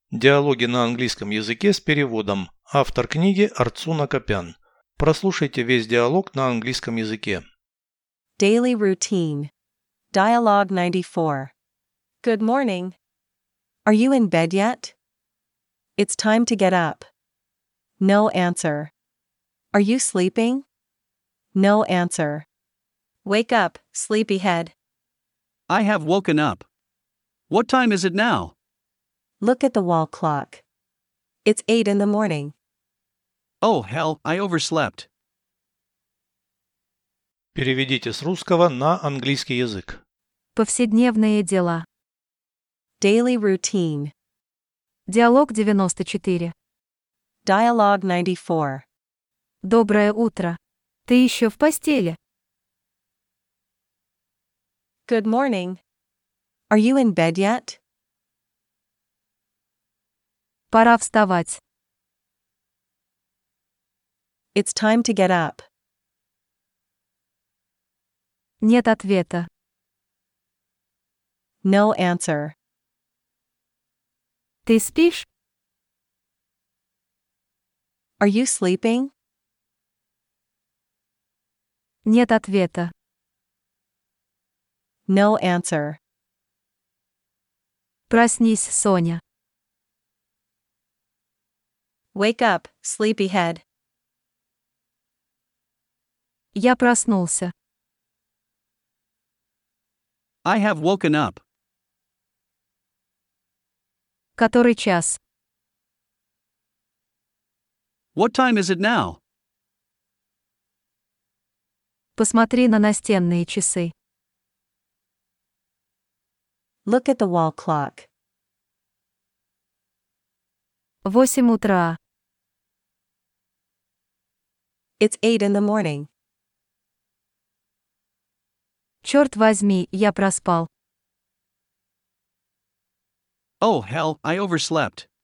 Диалоги на английском языке с переводом. Автор книги Арцуна Копян. Прослушайте весь диалог на английском языке. Daily routine. Dialogue 94. Good morning. Are you in bed yet? It's time to get up. No answer. Are you sleeping? No answer. Wake up, sleepyhead. I have woken up. What time is it now? Look at the wall clock. It's 8 in the morning. Oh hell, I overslept. Переведите с русского на английский язык. Повседневные дела. Daily routine. Диалог 94. Dialogue 94. Доброе утро. Ты еще в постели? Good morning. Are you in bed yet? Пора вставать. It's time to get up. Нет ответа. No answer. Ты спишь? Are you sleeping? Нет ответа. No answer. Проснись, Соня. Wake up, sleepyhead. Я проснулся. I have woken up. Который час? What time is it now? Посмотри на настенные часы. Look at the wall clock. 8 утра. It's 8 in the morning. Черт возьми, я проспал. Oh hell, I overslept.